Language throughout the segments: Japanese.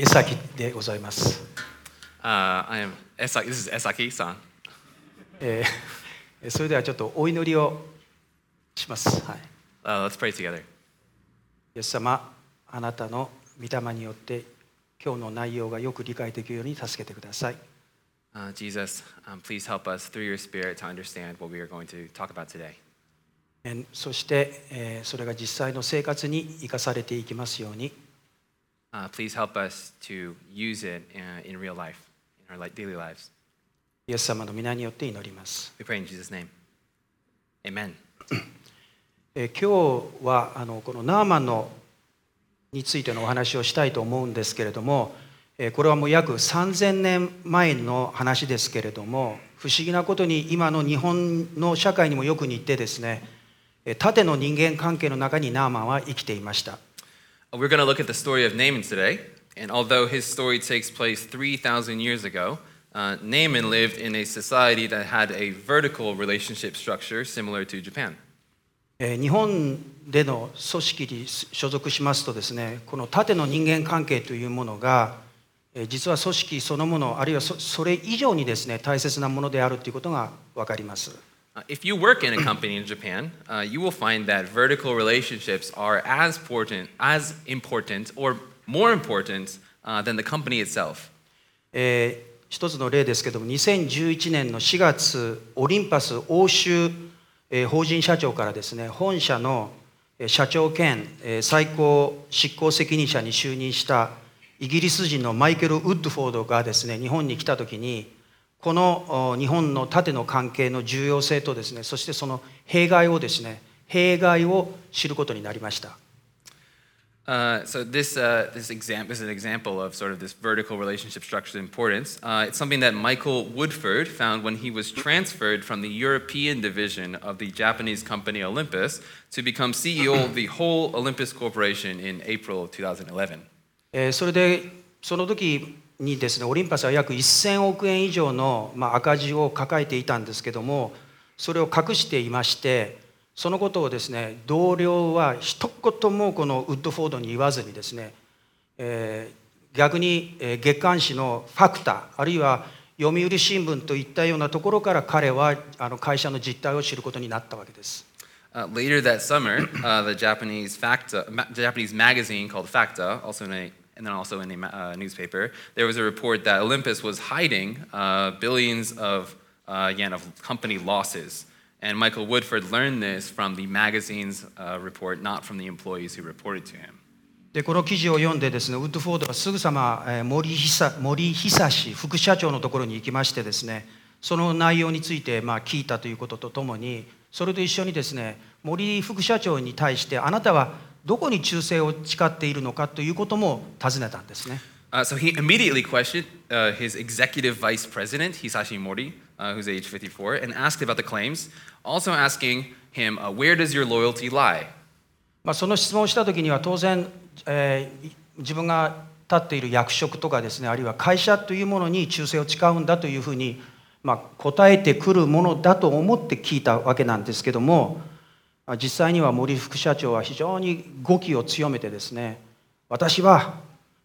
江崎でございます。 I am Esaki. This is Esaki-san. それではちょっとお祈りをします。はい。 Let's pray together. イエス様、あなたの御霊によって今日の内容がよく理解できるように助けてください。 Jesus, please help us through your Spirit to understand what we are going to talk about today. そして、それが実際の生活に生かされていきますように。 Please help us to use it in real life, in our daily lives. イエス様の皆によって祈ります。 We pray in Jesus' name. Amen. 今日はこのナーマンについてのお話をしたいと思うんですけれども、これはもう約3000年前の話ですけれども、不思議なことに今の日本の社会にもよく似てですね、縦の人間関係の中にナーマンは生きていました。 We're going to look at the story of Naaman today, and although his story takes place 3,000 years ago, Naaman lived in a society that had a vertical relationship structure similar to Japan. 日本での組織に所属しますとですね、この縦の人間関係というものが実は組織そのもの、あるいはそれ以上にですね、大切なものであるということが分かります。 If you work in a company in Japan, you will find that vertical relationships are as important or more important than the company itself. 一つの例ですけども、2011年の4月、オリンパス欧州法人社長からですね、本社の社長兼最高執行責任者に就任したイギリス人のマイケル・ウッドフォードがですね、日本に来たときに、この日本の縦の関係の重要性とですね、そしてその弊害を知ることになりました。 So this example is an example of sort of this vertical relationship structure's importance. It's something that Michael Woodford found when he was transferred from the European division of the Japanese company Olympus to become CEO of the whole Olympus Corporation in April of 2011. それでその時にですね、オリンパスは約1000億円以上の赤字を抱えていたんですけども、それを隠していまして、そのことをですね、同僚は一言もこのウッドフォードに言わずにですね、逆に月刊誌のファクター、あるいは読売新聞といったようなところから彼は会社の実態を知ることになったわけです。 Later that summer, the Japanese magazine called Facta, and then also in a newspaper, there was a report that Olympus was hiding billions of yen of company losses. And Michael Woodford learned this from the magazine's report, not from the employees who reported to him. でこの記事を読んでですね、ウッドフォードはすぐさま森久志副社長のところに行きましてですね、その内容について聞いたということとともに、それと一緒にですね、森副社長に対してあなたはどこに忠誠を誓っているのかということも尋ねたんですね。 So he immediately questioned his executive vice president, Hisashi Mori, who's age 54, and asked about the claims, also asking him, where does your loyalty lie? その質問をしたときには当然、自分が立っている役職とかですね、あるいは会社というものに忠誠を誓うんだというふうに、答えてくるものだと思って聞いたわけなんですけども、実際には森副社長は非常に語気を強めてですね、私は、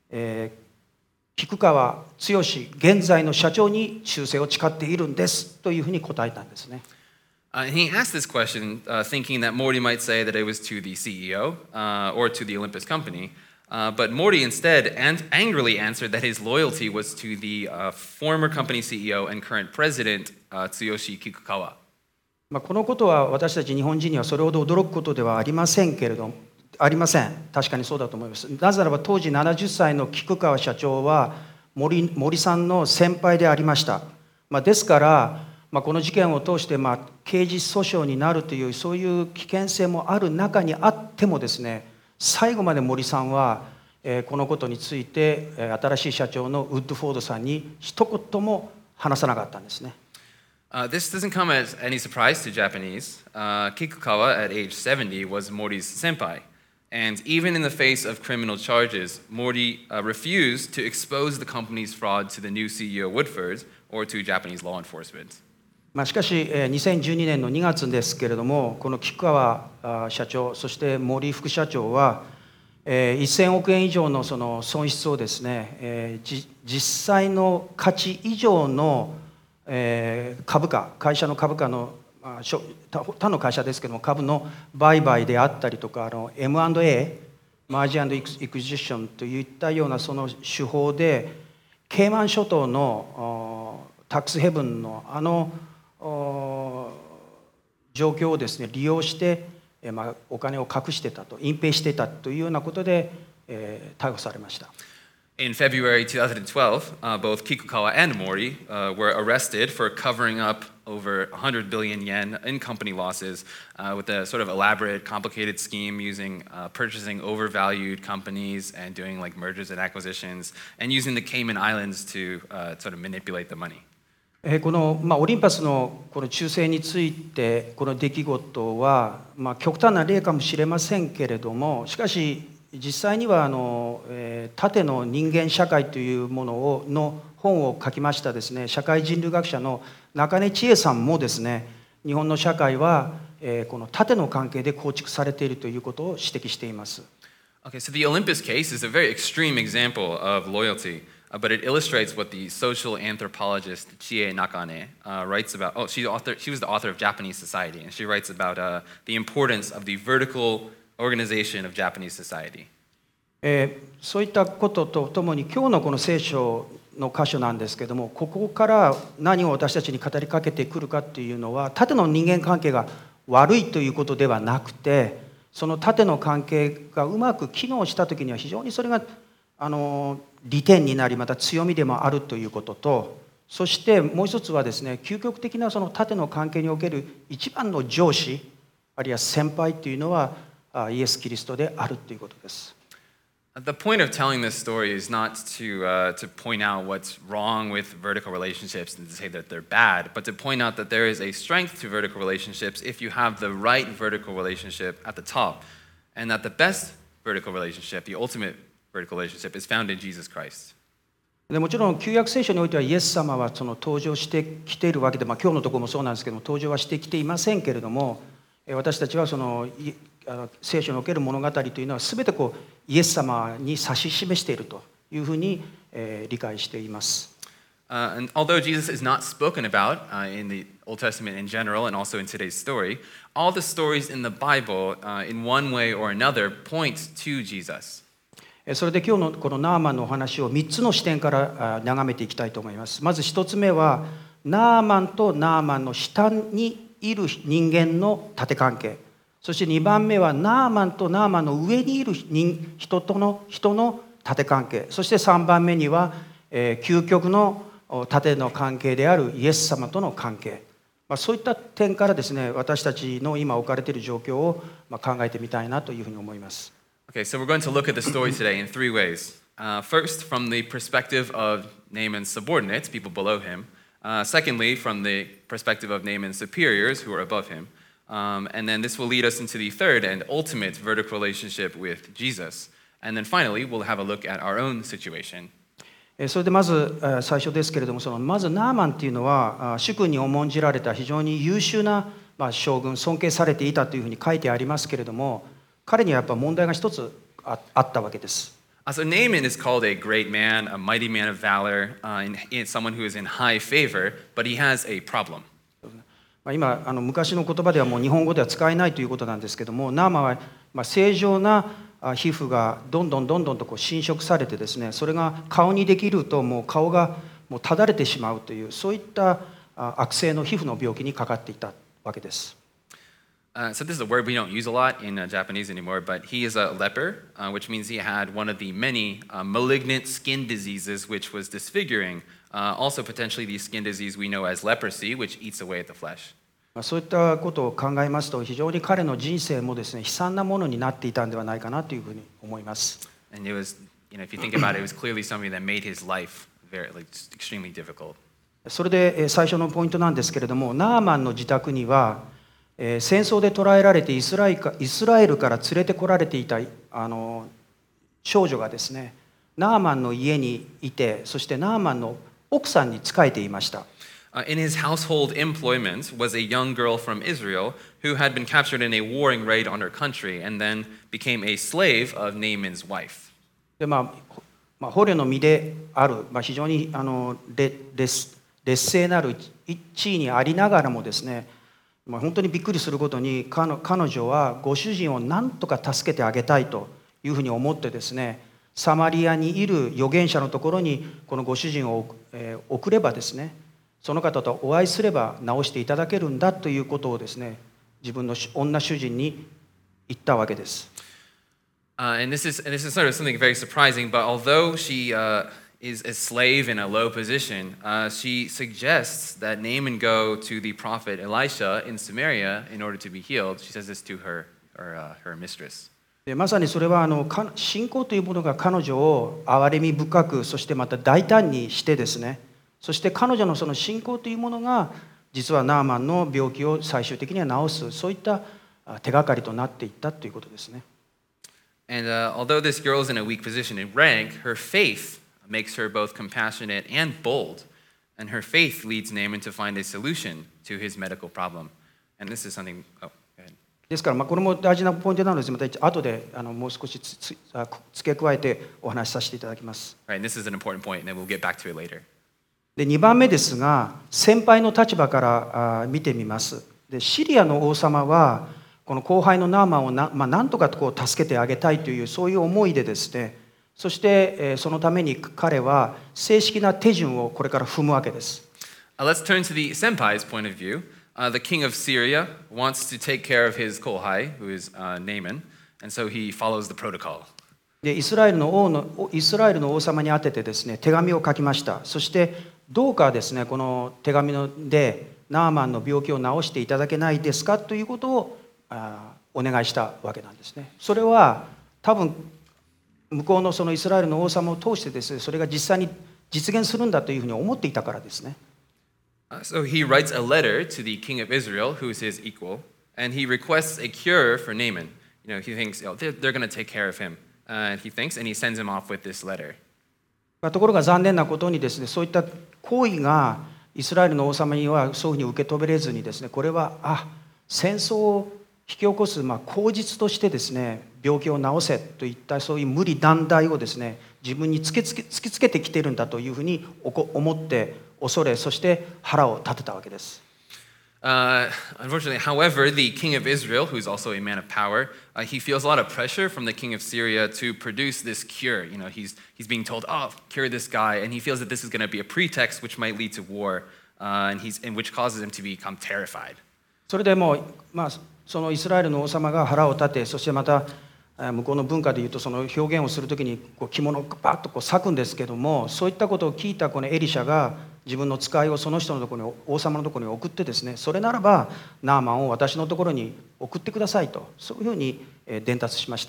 菊川剛現在の社長に忠誠を誓っているんですというふうに答えたんですね。 And he asked this question thinking that Morty might say that it was to the CEO or to the Olympus company, but Morty instead angrily answered that his loyalty was to the former company CEO and current president, Tsuyoshi Kikukawa. このことは私たち日本人にはそれほど驚くことではありませんけれども、確かにそうだと思います。なぜならば当時70歳の菊川社長は森さんの先輩でありました。ですから、この事件を通して刑事訴訟になるというそういう危険性もある中にあってもですね、最後まで森さんはこのことについて新しい社長のウッドフォードさんに一言も話さなかったんですね。 This doesn't come as any surprise to Japanese. Kikukawa, at age 70, was Morty's senpai. And even in the face of criminal charges, Morty refused to expose the company's fraud to the new CEO Woodford or to Japanese law enforcement. しかし2012年の2月ですけれども、この菊川社長、そして森副社長は 1000億円以上のその損失をですね、実際の価値以上の株価、会社の株価の他の会社ですけども株の売買であったりとかM&A、マージー&エクジションといったようなその手法でケイマン諸島のタックスヘブンの状況をですね利用してお金を隠してたと隠蔽してたというようなことで逮捕されました。 In February 2012, both Kikukawa and Mori were arrested for covering up over 100 billion yen in company losses with a sort of elaborate, complicated scheme using purchasing overvalued companies and doing like mergers and acquisitions and using the Cayman Islands to sort of manipulate the money. このオリンパスのこの忠誠についてこの出来事は極端な例かもしれませんけれども、しかし実際には縦の人間社会というものの本を書きましたですね、社会人類学者の中根千恵さんもですね、日本の社会はこの縦の関係で構築されているということを指摘しています。 Okay, so the Olympus case is a very extreme example of loyalty, but it illustrates what the social anthropologist Chie Nakane writes about. Oh, she was the author of Japanese Society, and she writes about the importance of the vertical organization of Japanese society. そういったこととともに今日のこの聖書の箇所なんですけども、ここから何を私たちに語りかけてくるかっていうのは、縦の人間関係が悪いということではなくて、その縦の関係がうまく機能した時には非常にそれが利点になり、また強みでもあるということと、そしてもう一つはですね、究極的なその縦の関係における一番の上司あるいは先輩というのはイエス・キリストであるということです。 The point of telling this story is not to point out what's wrong with vertical relationships and to say that they're bad, but to point out that there is a strength to vertical relationships if you have the right vertical relationship at the top, and that the best vertical relationship, the ultimate vertical relationship, is found in Jesus Christ. でもちろん旧約聖書においてはイエス様はその登場してきているわけで、今日のところもそうなんですけども登場はしてきていませんけれども、私たちはその聖書における物語というのは全てこうイエス様に指し示しているというふうに理解しています。 And although Jesus is not spoken about in the Old Testament in general and also in today's story, all the stories in the Bible, in one way or another, point to Jesus. それで今日のこのナーマンのお話を3つの視点から眺めていきたいと思います。まず1つ目はナーマンとナーマンの下にいる人間の縦関係。そして2番目はナーマンとナーマンの上にいる人の縦関係。そして3番目には究極の縦の関係であるイエス様との関係。そういった点からですね、私たちの今置かれている状況を考えてみたいなというふうに思います。 Okay, so we're going to look at the story today in three ways. First, from the perspective of Naaman's subordinates, people below him. Secondly, from the perspective of Naaman's superiors, who are above him. And then this will lead us into the third and ultimate vertical relationship with Jesus. And then finally, we'll have a look at our own situation. それでまず最初ですけれども、まずナーマンっていうのは主君に重んじられた非常に優秀な将軍、尊敬されていたというふうに書いてありますけれども、彼にはやっぱ問題が一つあったわけです。 So Naaman is called a great man, a mighty man of valor, and someone who is in high favor, but he has a problem. 今昔の言葉ではもう日本語では使えないということなんですけども、ナーマンは正常な皮膚がどんどんとこう侵食されてですね、それが顔にできるともう顔がもうただれてしまうというそういった悪性の皮膚の病気にかかっていたわけです。 So this is a word we don't use a lot in Japanese anymore, but he is a leper, which means he had one of the many malignant skin diseases which was disfiguring, also potentially the skin disease we know as leprosy, which eats away at the flesh. そういったことを考えますと、非常に彼の人生もですね、悲惨なものになっていたんではないかなというふうに思います。 And it was, if you think about it, it was clearly something that made his life very, extremely difficult. それで最初のポイントなんですけれども、ナーマンの自宅には戦争で捕らえられてイスラエルから連れてこられていた少女がですね、ナーマンの家にいて、そしてナーマンの奥さんに仕えていました。 In his household employment was a young girl from Israel who had been captured in a warring raid on her country and then became a slave of Naaman's wife. で捕虜の身である、非常に劣勢なる地位にありながらもですね、本当にびっくりすることに彼女はご主人を何とか助けてあげたいというふうに思ってですね、サマリアにいる預言者のところにこのご主人を送ればですね、その方とお会いすれば治していただけるんだということをですね、自分の女主人に言ったわけです。 And this is sort of something very surprising, but although she is a slave in a low position, she suggests that Naaman go to the prophet Elisha in Samaria in order to be healed. She says this to her mistress. でまさにそれは信仰というものが彼女を憐れみ深く、そしてまた大胆にしてですね、そして彼女のその信仰というものが実はナーマンの病気を最終的には治す、そういった手がかりとなっていったということですね。 And although this girl is in a weak position in rank, her faith makes her both compassionate and bold. And her faith leads Naaman to find a solution to his medical problem. And this is something... Oh, go ahead. ですからこれも大事なポイントなので、また後でもう少し付け加えてお話しさせていただきます。 Right, and this is an important point, and then we'll get back to it later. で2番目ですが、先輩の立場から見てみます。でシリアの王様はこの後輩のナーマンをなんとか助けてあげたいというそういう思いでですね、そしてそのために彼は正式な手順をこれから踏むわけです。 Let's turn to the senpai's point of view. The king of Syria wants to take care of his kohai, who is Naaman, and so he follows the protocol. でイスラエルの王様に宛ててですね、手紙を書きました。そしてどうかですね、この手紙でナーマンの病気を治していただけないですかということをお願いしたわけなんですね。それは多分向こうのそのイスラエルの王様を通してですね、それが実際に実現するんだというふうに思っていたからですね。 So he writes a letter to the king of Israel, who is his equal, and he requests a cure for Naaman. He thinks they're going to take care of him. And he thinks, and he sends him off with this letter. ところが残念なことにですね、そういった行為がイスラエルの王様にはそういうふうに受け止めれずにですね、これは戦争を引き起こす口実としてですね、病気を治せといったそういう無理難題をですね、自分に突きつけてきているんだというふうに思って恐れ、そして腹を立てたわけです。 Unfortunately, however, the king of Israel, who's also a man of power, he feels a lot of pressure from the king of Syria to produce this cure. He's being told, cure this guy, and he feels that this is going to be a pretext which might lead to war, and which causes him to become terrified. それでもそのイスラエルの王様が腹を立て、そしてまた向こうの文化でいうとその表現をするときに着物をバッと裂くんですけども、そういったことを聞いたこのエリシャが自分の使いをその人のところに、王様のところに送ってですね、それならばナーマンを私のところに送ってくださいと、そういうふうに伝達しました。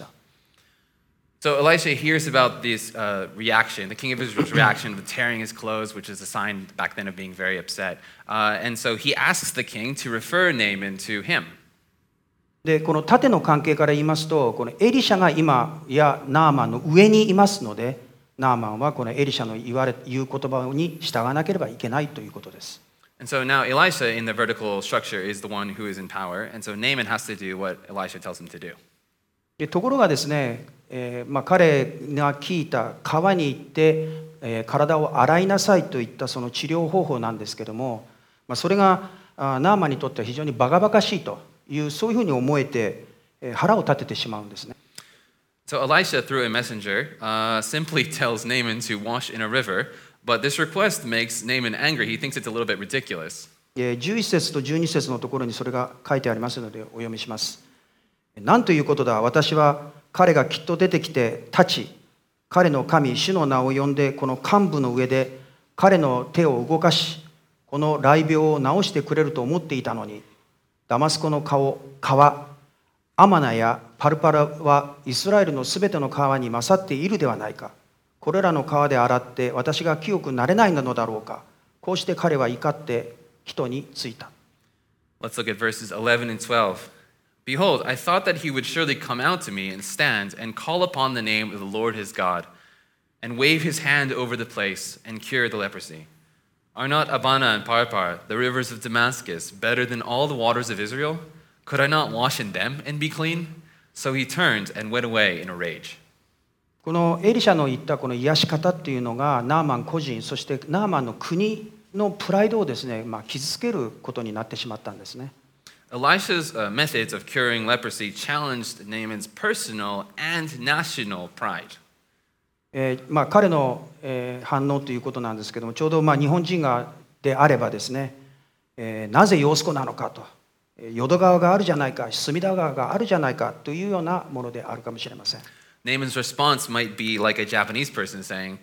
So Elisha hears about this reaction, the king of Israel's reaction of tearing his clothes, which is a sign back then of being very upset. And so he asks the king to refer Naaman to him. でこの縦の関係から言いますと、このエリシャが今やナーマンの上にいますので、ナーマンはこのエリシャの言う言葉に従わなければいけないということです。 And so now Elisha in the vertical structure is the one who is in power, and so Naaman has to do what Elisha tells him to do. でところがですね、彼が聞いた川に行って、体を洗いなさいといったその治療方法なんですけども、それがナーマンにとっては非常にバカバカしいという、そういうふうに思えて腹を立ててしまうんですね。 So Elisha, through a messenger, simply tells Naaman to wash in a river, but this request makes Naaman angry. He thinks it's a little bit ridiculous. 11節と12節のところにそれが書いてありますのでお読みします。なんということだ、私は彼がきっと出てきて立ち、彼の神主の名を呼んでこの幹部の上で彼の手を動かし、この雷病を治してくれると思っていたのに、ダマスコの川、アマナやパルパラはイスラエルのすべての川に勝っているではないか。これらの川で洗って私が清くなれないのだろうか。こうして彼は怒って人についた。 Let's look at verses 11 and 12. Behold, I thought that he would surely come out to me and stand and call upon the name of the Lord his God and wave his hand over the place and cure the leprosy. Are not Abana and Parpar, the rivers of Damascus, better than all the waters of Israel? Could I not wash in them and be clean? So he turned and went away in a rage. このエリシャの言ったこの癒し方っていうのがナーマン個人、そしてナーマンの国のプライドをですね、傷つけることになってしまったんですね。 Elisha's methods of curing leprosy challenged Naaman's personal and national pride. 彼の、反応ということなんですけども、ちょうど日本人であればですね、なぜヨースコなのかと、淀川があるじゃないか、隅田川があるじゃないかというようなものであるかもしれません。 Naaman's response might be like a Japanese person saying,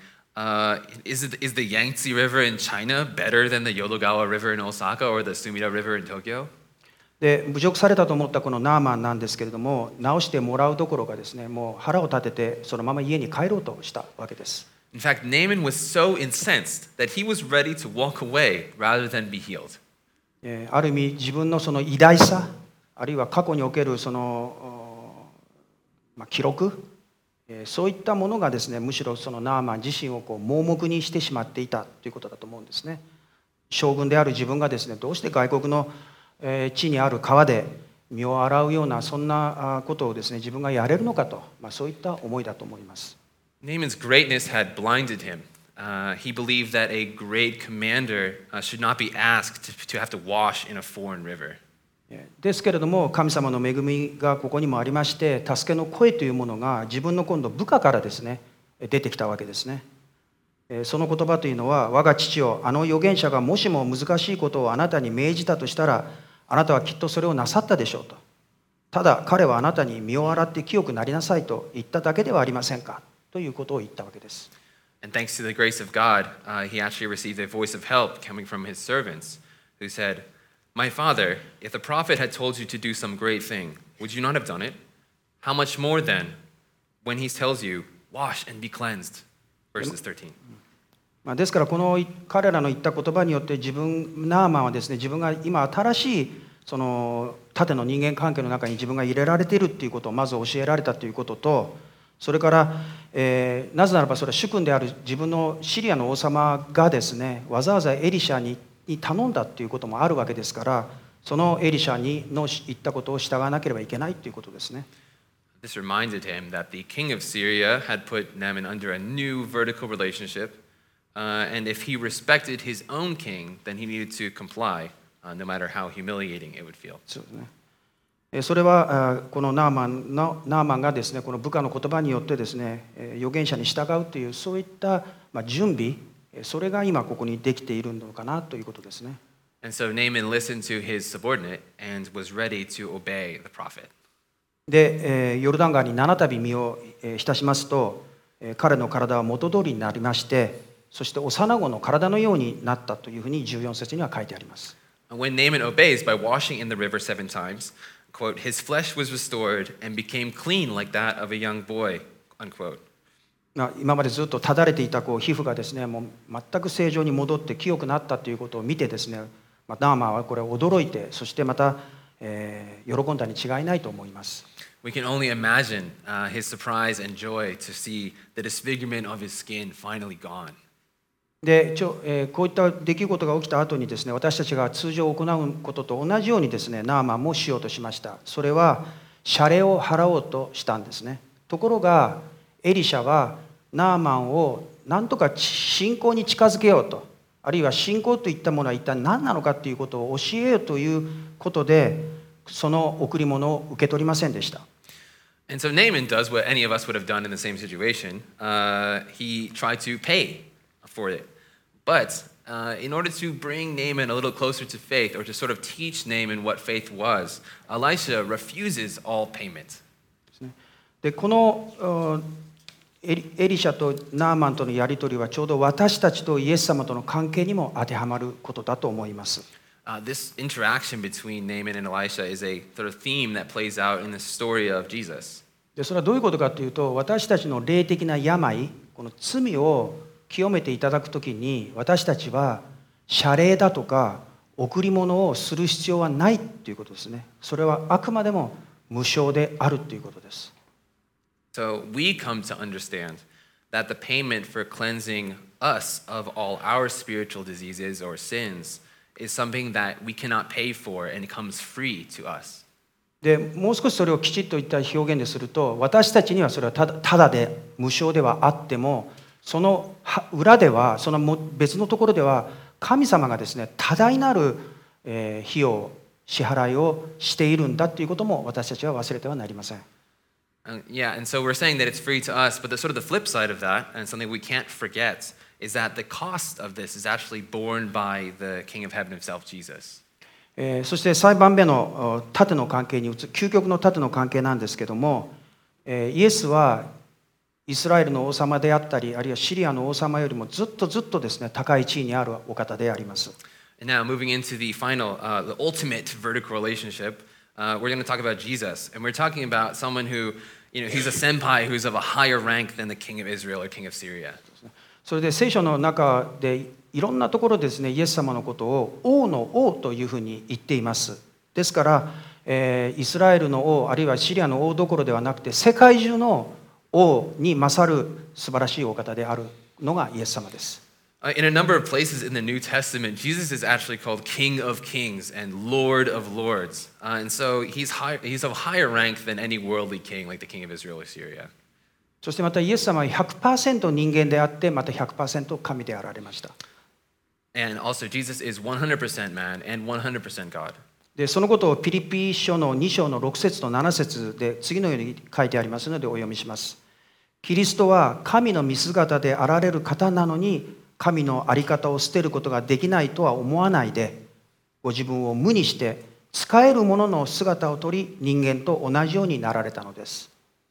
is the Yangtze River in China better than the Yodogawa River in Osaka or the Sumida River in Tokyo? で侮辱されたと思ったこのナーマンなんですけれども、直してもらうどころかですね、もう腹を立ててそのまま家に帰ろうとしたわけです。 In fact, Naaman was so incensed that he was ready to walk away rather than be healed. ある意味自分のその偉大さ、あるいは過去におけるその、記録、そういったものがですね、むしろそのナーマン自身を盲目にしてしまっていたということだと思うんですね。将軍である自分がですね、どうして外国の地にある川で身を洗うようなそんなことをですね、自分がやれるのかと、そういった思いだと思います。 Naaman's greatness had blinded him. He believed that a great commander should not be asked to have to wash in a foreign river. ですけれども、神様の恵みがここにもありまして、助けの声というものが自分の今度部下からですね、出てきたわけですね。その言葉というのは、我が父よ、あの預言者がもしも難しいことをあなたに命じたとしたら、あなたはきっとそれをなさったでしょうと。ただ彼はあなたに身を洗って清くなりなさいと言っただけではありませんかということを言ったわけです。 And thanks to the grace of God, he actually received a voice of help coming from his servants, who said, My father, if the prophet had told you to do some great thing, would you not have done it? How much more then, when he tells you, wash and be cleansed? Verses 13. ですからこの彼らの言った言葉によってナーマンはですね、自分が今新しいその縦の人間関係の中に自分が入れられているということをまず教えられたということと、それから、なぜならばそれは主君である自分のシリアの王様がですね、わざわざエリシャに頼んだということもあるわけですから、そのエリシャの言ったことを従わなければいけないということですね。 This reminded him that the king of Syria had put Naaman under a new vertical relationship, and if he respected his own king, then he needed to comply, no matter how humiliating it would feel. そうですね。それはこのナーマンがですね、この部下の言葉によってですね、預言者に従うというそういった準備、それが今ここにできているのかなということですね。 And so Naaman listened to his subordinate and was ready to obey the prophet. で、ヨルダン川に7度身を浸しますと、彼の体は元通りになりまして、そして幼子の体のようになったというふうに14節には書いてあります。 When Naaman obeys by washing in the river 7 times, quote, his flesh was restored and became clean like that of a young boy, unquote. 今までずっとただれていた皮膚がですね、もう全く正常に戻って清くなったということを見てですね、ナーマンはこれ驚いて、そしてまた、喜んだに違いないと思います。 We can only imagine his surprise and joy to see the disfigurement of his skin finally gone. でこういった出来事が起きた後にですね、私たちが通常行うことと同じようにですね、ナーマンもしようとしました。それは謝礼を払おうとしたんですね。ところがエリシャはナーマンを何とか信仰に近づけようと、あるいは信仰といったものは一体何なのかということを教えようということで、その贈り物を受け取りませんでした。 And so Naaman does what any of us would have done in the same situation. He tried to pay for it. But in order to bring Naaman a little closer to faith, or to sort of teach Naaman what faith was, Elisha refuses all payment. でこのエリシャとナーマンとのやり取りはちょうど私たちとイエス様との関係にも当てはまることだと思います。 This interaction between Naaman and Elisha is a sort of theme that plays out in the story of Jesus. でそれはどういうことかというと、私たちの霊的な病、この罪を清めていただくときに、私たちは謝礼だとか贈り物をする必要はないということですね。それはあくまでも無償であるということです。 So we come to understand that the payment for cleansing us of all our spiritual diseases or sins is something that we cannot pay for and it comes free to us. でもう少しそれをきちっといった表現ですると、私たちにはそれはただで無償ではあっても、その裏では、その別のところでは神様がですね、多大なる費用支払いをしているんだということも私たちは忘れてはなりません。 Yeah, and so we're saying that it's free to us, but the sort of the flip side of that, and something we can't forget, is that the cost of this is actually borne by the King of Heaven himself, Jesus. そして3番目の縦の関係に究極の縦の関係なんですけども、イエスはイスラエルの王様であったり、あるいはシリアの王様よりもずっとですね、高い地位にあるお方であります。 And now moving into the final, the ultimate vertical relationship, we're going to talk about Jesus, and we're talking about someone who, he's a senpai who's of a higher rank than the king of Israel or king of Syria. それで聖書の中でいろんなところでですね、イエス様のことを王の王というふうに言っています。ですから、イスラエルの王あるいはシリアの王どころではなくて、世界中の王に勝る素晴らしいお方であるのがイエス様です。 In a number of places in the New Testament, Jesus is actually called King of Kings and Lord of Lords. And so he's of higher rank than any worldly king like the king of Israel or Syria. そしてまたイエス様は 100% 人間であって、また 100% 神であられました。 And also Jesus is 100% man and 100% God. でそのことをピリピ書の2章の6節と7節で次のように書いてありますのでお読みします。キリストは神の見姿であられる方なのに、神の在り方を捨てることができないとは思わないで、ご自分を無にして使えるものの姿をとり、人間と同じようになられたのです。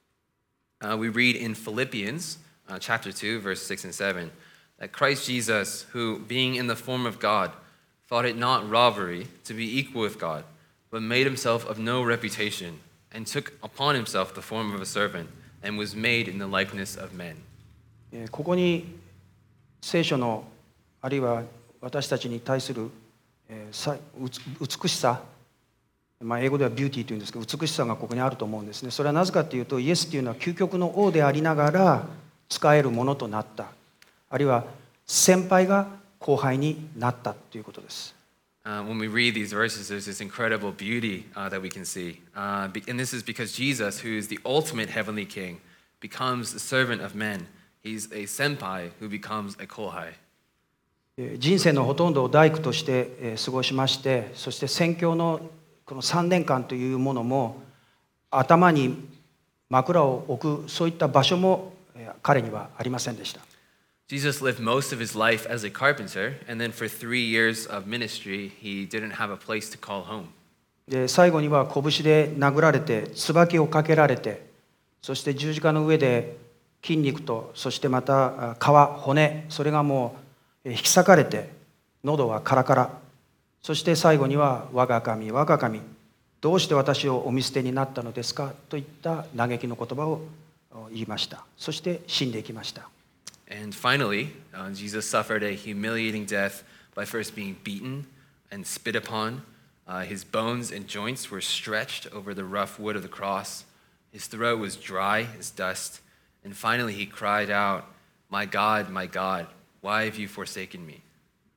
We read in Philippians chapter 2, verse 6 and 7, that Christ Jesus, who, being in the form of God, thought it not robbery to be equal with God, but made himself of no reputation, and took upon himself the form of a servant, and was made in the likeness of men. ここに聖書のあるいは私たちに対する美しさ、英語ではビューティーというんですけど、美しさがここにあると思うんですね。それはなぜかというと、イエスというのは究極の王でありながら使えるものとなった、あるいは先輩が後輩になったということです。 When we read these verses, there's this incredible beauty that we can see. And this is because Jesus, who is the ultimate heavenly king, becomes the servant of men. He's a senpai who becomes a kohai. 人生のほとんどを大工として過ごしまして、そして宣教のこの3年間というものも、頭に枕を置くそういった場所も彼にはありませんでした。 Jesus lived most of his life as a carpenter, and then for 3 years of ministry, he didn't have a place to call home. で最後には拳で殴られて、椿をかけられて、そして十字架の上で筋肉と、そしてまた皮、骨、それがもう引き裂かれて、喉はカラカラ、そして最後には我が神、我が神、どうして私をお見捨てになったのですかといった嘆きの言葉を言いました。そして死んでいきました。 And finally, Jesus suffered a humiliating death by first being beaten and spit upon. His bones and joints were stretched over the rough wood of the cross. His throat was dry as dust. And finally he cried out, my God, why have you forsaken me?」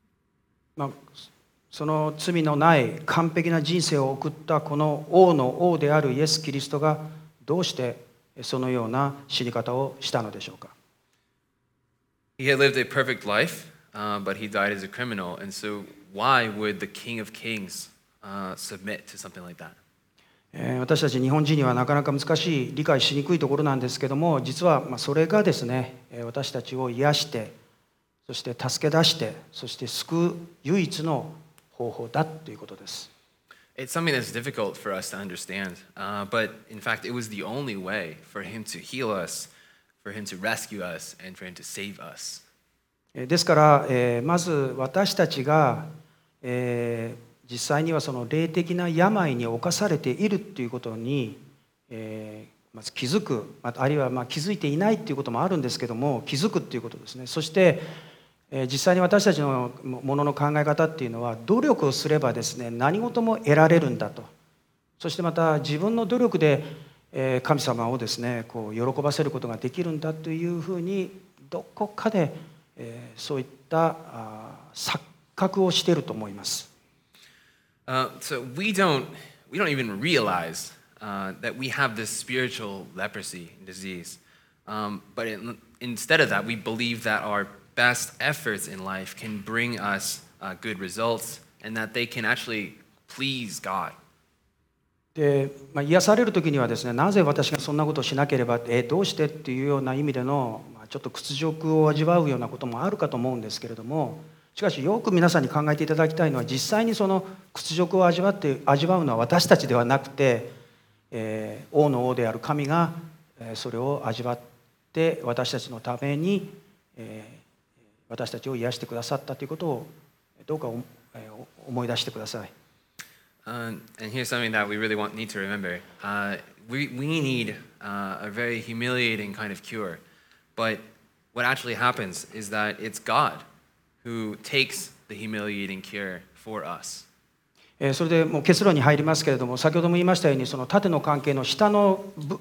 その罪のない完璧な人生を送ったこの王の王であるイエス・キリストがどうしてそのような死に方をしたのでしょうか。 He had lived a perfect life, but he died as a criminal. And so why would the King of Kings submit to something like that? 私たち日本人にはなかなか難しい、理解しにくいところなんですけども、実はそれがですね、私たちを癒して、そして助け出して、そして救う唯一の方法だということです。 It's something that's difficult for us to understand, but in fact, it was the only way for him to heal us, for him to rescue us, and for him to save us. ですから、まず私たちが、実際にはその霊的な病に侵されているということに、まず気づく、あるいは気づいていないということもあるんですけども、気づくということですね。そして実際に私たちのものの考え方っていうのは、努力をすればですね、何事も得られるんだと。そしてまた自分の努力で神様をですね、こう喜ばせることができるんだというふうにどこかで、そういった錯覚をしていると思います。 So we don't even realize that we have this spiritual leprosy disease. But instead of that, we believe that our best efforts in life can bring us good results and that they can actually please God. で癒される時にはですね、なぜ私がそんなことをしなければ、どうしてっていうような意味での、ちょっと屈辱を味わうようなこともあるかと思うんですけれども、しかしよく皆さんに考えていただきたいのは、実際にその屈辱を味わうのは私たちではなくて、王の王である神がそれを味わって私たちのために私たちを癒してくださったということをどうか思い出してください。 And here's something that we really need to remember. We need a very humiliating kind of cure. But what actually happens is that it's God who takes the humiliating cure for us. それでもう結論に入りますけれども、先ほども言いましたように、その縦の関係の下の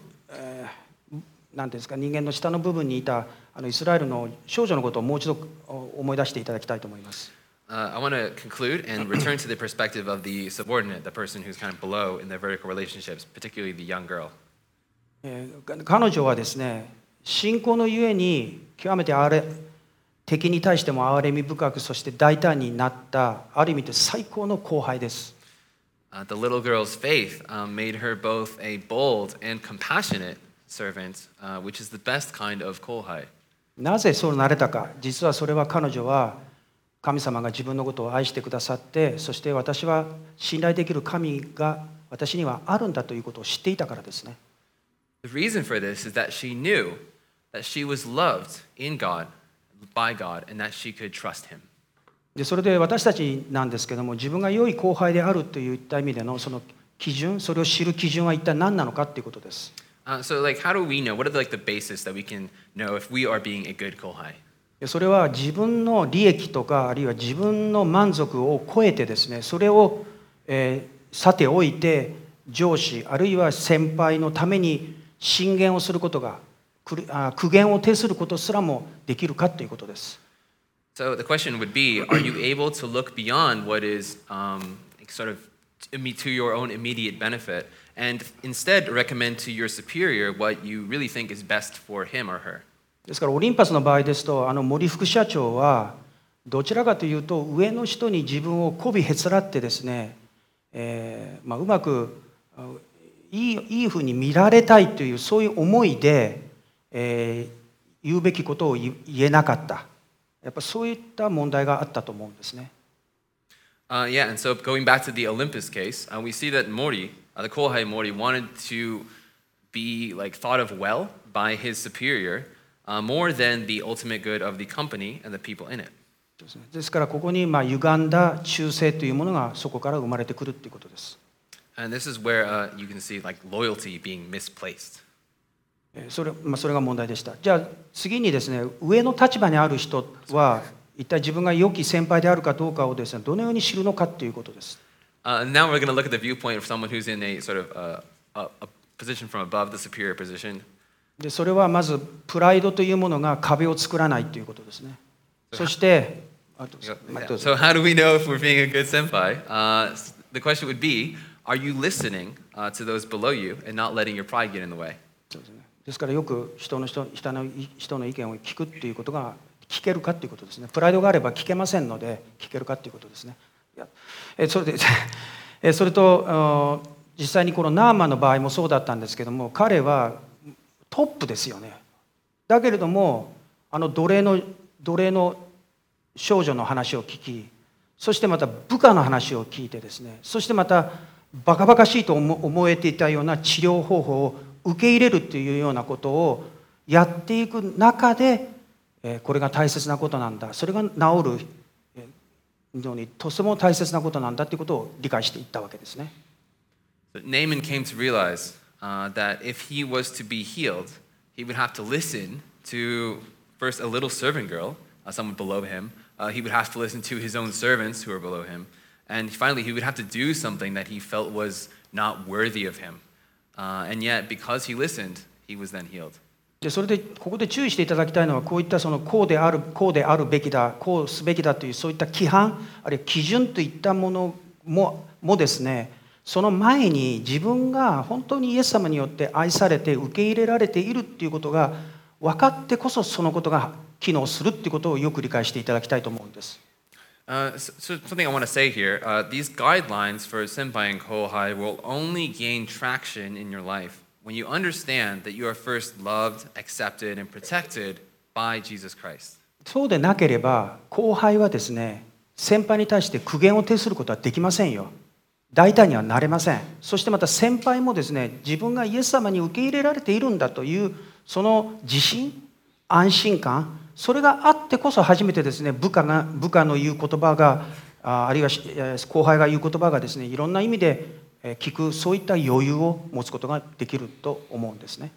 なんていうんですか、人間の下の部分にいたイスラエルの少女のことをもう一度思い出していただきたいと思います。 I want to conclude and return to the perspective of the subordinate, the person who's kind of below in their vertical relationships, particularly the young girl. 彼女はですね、信仰のゆえに極めて敵に対しても憐れみ深く、そして大胆になった、ある意味で最高の後輩です。 The little girl's faith made her both a bold and compassionate servant, which is the best kind of kohai. なぜそうなれたか。実はそれは彼女は神様が自分のことを愛してくださって、そして私は信頼できる神が私にはあるんだということを知っていたからですね。 The reason for this is that she knew that she was loved in God, by God, and that she could trust Him. でそれで私たちなんですけども、自分が良い後輩であるといった意味でのその基準、それを知る基準は一体何なのかということです。 So, how do we know? What are the basis that we can know if we are being a good kohai? それは自分の利益とか、あるいは自分の満足を超えてですね、それを、さておいて上司あるいは先輩のために進言をすることが、苦言を呈することすらもできるかということです。 So the question would be, are you able to look beyond what is sort of to your own immediate benefit and instead recommend to your superior what you really think is best for him or her? ですからオリンパスの場合ですと、森副社長はどちらかというと上の人に自分を媚びへつらってですね、うまくいいふうに見られたいというそういう思いで、言うべきことを言えなかった。やっぱそういった問題があったと思うんですね。 Yeah, and so going back to the Olympus case, we see that Mori, the Kohai Mori, wanted to be thought of well by his superior more than the ultimate good of the company and the people in it. ですからここに歪んだ忠誠というものがそこから生まれてくるということです。 And this is where you can see loyalty being misplaced. それが問題でした。じゃあ次にですね、上の立場にある人は一体自分が良き先輩であるかどうかをですね、どのように知るのかということです。 Now we're going to look at the viewpoint of someone who's in a sort of a position from above the superior position. でそれはまずプライドというものが壁を作らないということですね。そして、 So how do we know if we're being a good senpai? The question would be, are you listening to those below you and not letting your pride get in the way? ですからよく人の意見を聞くっていうことが聞けるかっていうことですね。プライドがあれば聞けませんので聞けるかっていうことですね。それと実際にこのナーマンの場合もそうだったんですけども、彼はトップですよね。だけれども奴隷の少女の話を聞き、そしてまた部下の話を聞いてですね、そしてまたバカバカしいと思えていたような治療方法を受け入れるというようなことをやっていく中で、これが大切なことなんだ、それが治るのにとても大切なことなんだということを理解していったわけですね。 Naaman came to realize that if he was to be healed, he would have to listen to first a little servant girl, someone below him. He would have to listen to his own servants who were below him. And finally, he would have to do something that he felt was not worthy of him. And yet, because he listened, he was then healed. でそれでここで注意していただきたいのは、こういったそのこうであるべきだ、こうすべきだというそういった規範、あるいは基準といったものもですね、その前に自分が本当にイエス様によって愛されて受け入れられているっていうことが分かってこそ、そのことが機能するっていうことをよく理解していただきたいと思うんです。 So something I want to say here, these guidelines for Senpai and Kohai will only gain traction in your life when you understand that you are first loved, accepted, and protected by Jesus Christ. そうでなければ後輩はですね、先輩に対して苦言を呈することはできませんよ。大胆にはなれません。そしてまた先輩もですね、自分がイエス様に受け入れられているんだというその自信、安心感、それがあってこそ初めてですね、部下の言う言葉が、あるいは後輩が言う言葉がですね、いろんな意味で聞く、そういった余裕を持つことができると思うんですね。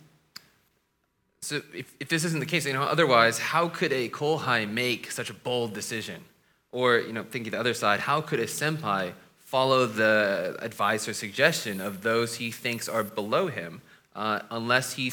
So if this isn't the case, otherwise, how could a Kohai make such a bold decision? Or, thinking the other side, how could a senpai follow the advice or suggestion of those he thinks are below him, unless he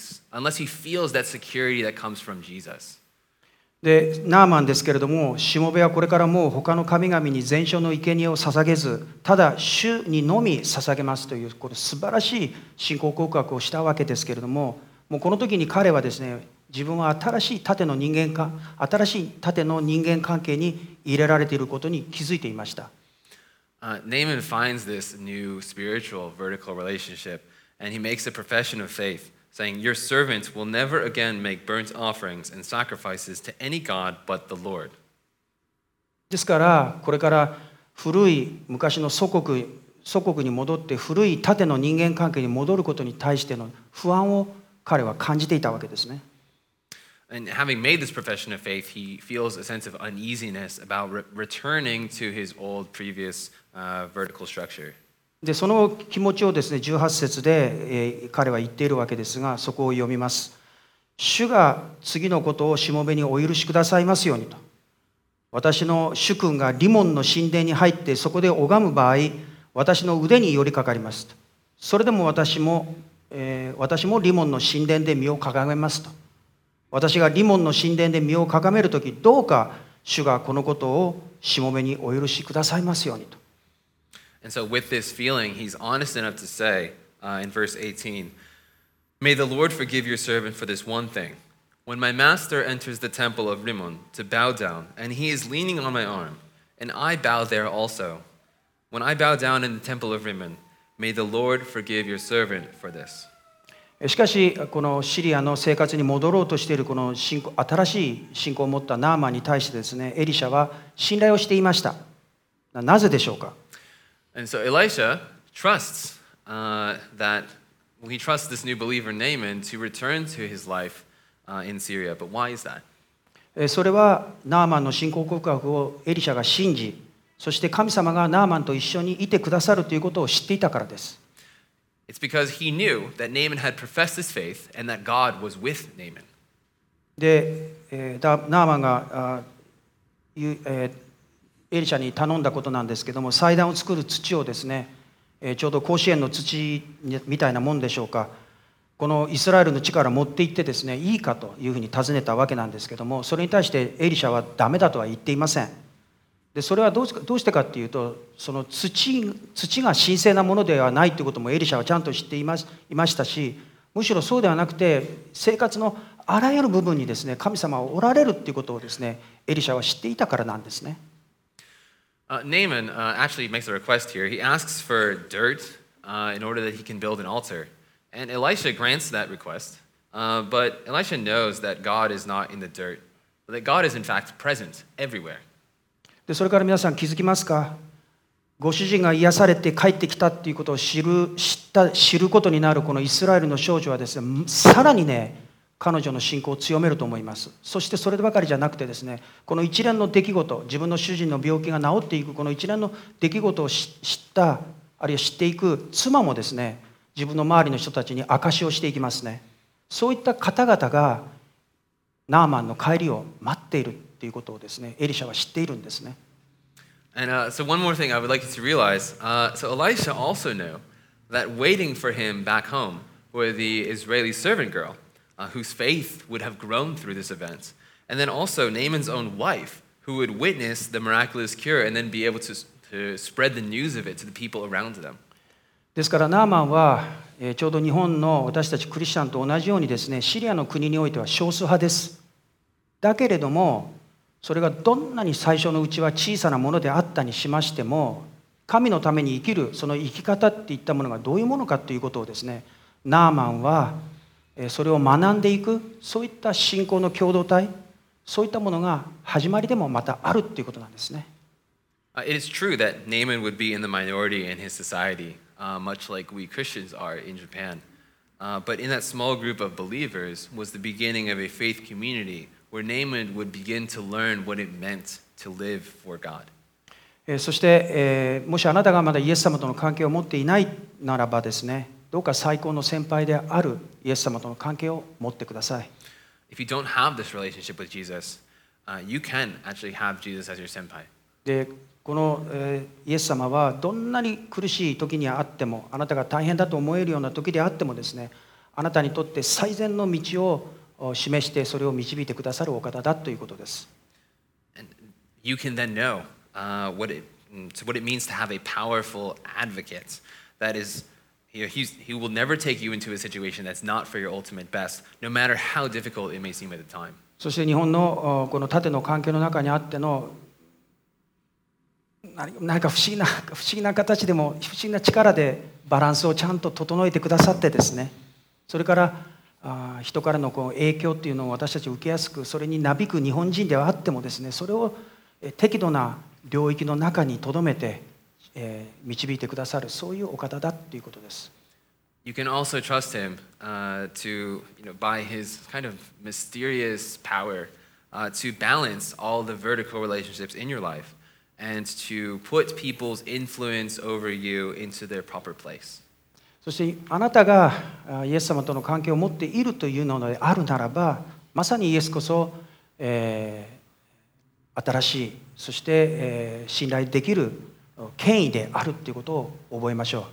feels that security that comes from Jesus? でナーマンですけれども、しもべはこれからもう他の神々に全焼の生贄を捧げず、ただ主にのみ捧げますという、これ素晴らしい信仰告白をしたわけですけれども、もうこの時に彼はですね、自分は新しい縦の人間関係に入れられていることに気づいていました。 Naaman finds this new spiritual vertical relationship, and he makes a profession of faith, saying, "Your servant will never again make burnt offerings and sacrifices to any god but the Lord." ですからこれから古い昔の祖国に戻って古い縦の人間関係に戻ることに対しての不安を彼は感じていたわけですね。 And having made this profession of faith, he feels a sense of uneasiness about returning to his old previous vertical structure. でその気持ちをですね、18節で、彼は言っているわけですが、そこを読みます。主が次のことをしもべにお許しくださいますようにと。私の主君がリモンの神殿に入ってそこで拝む場合、私の腕に寄りかかりますと。それでも私もリモンの神殿で身をかがめますと。私がリモンの神殿で身をかがめるとき、どうか主がこのことをしもべにお許しくださいますようにと。 And so with this feeling, he's honest enough to say in verse 18, "May the Lord forgive your servant for this one thing. When my master enters the temple of Rimmon to bow down, and he is leaning on my arm, and I bow there also. When I bow down in the temple of Rimmon, may the Lord forgive your servant for this." しかしこのシリアの生活に戻ろうとしているこの新しい信仰を持ったナーマンに対してですね、エリシャは信頼をしていました。なぜでしょうか。 And so Elisha trusts he trusts this new believer Naaman to return to his life in Syria. But why is that? それはナーマンの信仰告白をエリシャが信じ、そして神様がナーマンと一緒にいてくださるということを知っていたからです。 It's because he knew that Naaman had professed his faith and that God was with Naaman. で、ナーマンがエリシャに頼んだことなんですけども、祭壇を作る土をですね、ちょうど甲子園の土みたいなもんでしょうか、このイスラエルの地から持って行ってですね、いいかというふうに尋ねたわけなんですけども、それに対してエリシャはダメだとは言っていません。でそれはどうしてかっていうと、その土が神聖なものではないということもエリシャはちゃんと知っていましたし、むしろそうではなくて生活のあらゆる部分にですね、神様はおられるっていうことをですね、エリシャは知っていたからなんですね。 Naaman actually makes a request here. He asks for dirt in order that he can build an altar. And Elisha grants that request. But Elisha knows that God is not in the dirt, but that God is in fact present everywhere. でそれから皆さん気づきますか。ご主人が癒されて帰ってきたっていうことを知ることになるこのイスラエルの少女はですね、さらにね、彼女の信仰を強めると思います。そしてそればかりじゃなくてですね、この一連の出来事、自分の主人の病気が治っていくこの一連の出来事を知った、あるいは知っていく妻もですね、自分の周りの人たちに証しをしていきますね。そういった方々がナーマンの帰りを待っているっていうことをですね、エリシャは知っているんですね。 And so one more thing I would like you to realize, so Elisha also knew that waiting for him back home were the Israeli servant girl, whose faith would have grown through this event. And then also Naaman's own wife, who would witness the miraculous cure and then be able to spread the news of it to the people around them. ですからナーマンは、ちょうど日本の私たちクリスチャンと同じようにですね、シリアの国においては少数派です。だけれども、それがどんなに最初のうちは小さなものであったにしましても、神のために生きるその生き方っていったものがどういうものかということをですね、ナーマンはそれを学んでいく、そういった信仰の共同体、そういったものが始まりでもまたあるということなんですね。 It is true that Naaman would be in the minority in his society, much like we Christians are in Japan. But in that small group of believers was the beginning of a faith community where Naaman would begin to learn what it meant to live for God. そして、もしあなたがまだイエス様との関係を持っていないならばですね、どうか最高の先輩であるイエス様との関係を持ってください。 If you don't have this relationship with Jesus, you can actually have Jesus as your senpai. でこの、イエス様はどんなに苦しい時にあっても、あなたが大変だと思えるような時であってもですね、あなたにとって最善の道を示してそれを導いてくださるお方だということです。 And you can then know what it means to have a powerful advocate. That is, he will never take you into a situation that's not for your ultimate best, no matter how difficult it may seem at the time. そして日本のこの縦の関係の中にあっての何か不思議な形でも不思議な力でバランスをちゃんと整えてくださってですね、それから人からの影響っていうのを私たち受けやすく、それになびく日本人ではあってもですね、それを適度な領域の中にとどめて導いてくださる、そういうお方だということです。 You can also trust him by his kind of mysterious power to balance all the vertical relationships in your life and to put people's influence over you into their proper place. そしてあなたがイエス様との関係を持っているというのであるならば、まさにイエスこそ、新しい、そして、信頼できる権威であるということを覚えましょう。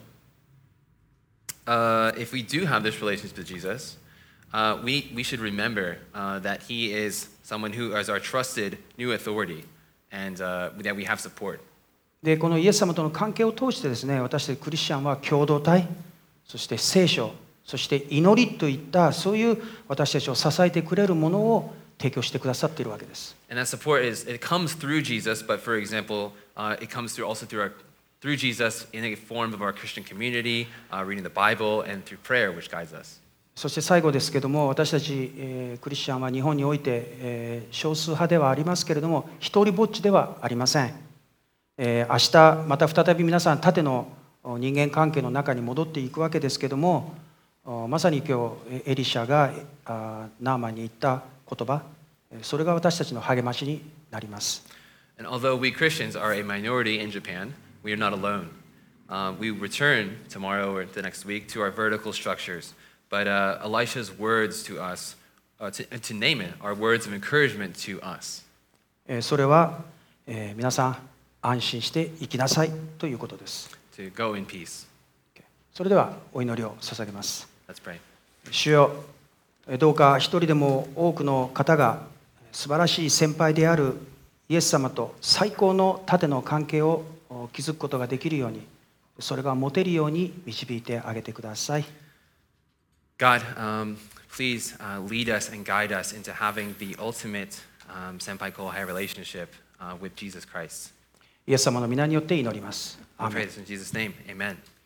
If we do have this relationship with Jesus, we should remember that he is someone who is our trusted new authority and that we have support. で、このイエス様との関係を通してですね、私たちクリスチャンは共同体、そして聖書、そして祈りといったそういう私たちを支えてくれるものを提供してくださっているわけです。 And that support it comes through Jesus, but for example, it comes through Jesus in a form of our Christian community, reading the Bible, and through prayer, which guides us. そして最後ですけども、私たち、クリスチャンは日本において、少数派ではありますけれども、一人ぼっちではありません。明日また再び皆さん縦の人間関係の中に戻っていくわけですけども、まさに今日エリシャがナーマンに言った言葉、それが私たちの励ましになります。 And although we Christians are a minority in Japan, we are not alone. We return tomorrow or the next week to our vertical structures, but Elisha's words to us, to Naaman, are words of encouragement to us. それは、皆さん安心して生きなさいということです。 To go in peace. それではお祈りを捧げます。 Let's pray. 主よ、どうか一人でも多くの方が素晴らしい先輩であるイエス様と最高の縦の関係を築くことができるように、それが持てるように導いてあげてください。 God, please lead us and guide us into having the ultimate senpai kohai relationship with Jesus Christ. イエス様の皆によって祈ります。 We pray this in Jesus' name. Amen.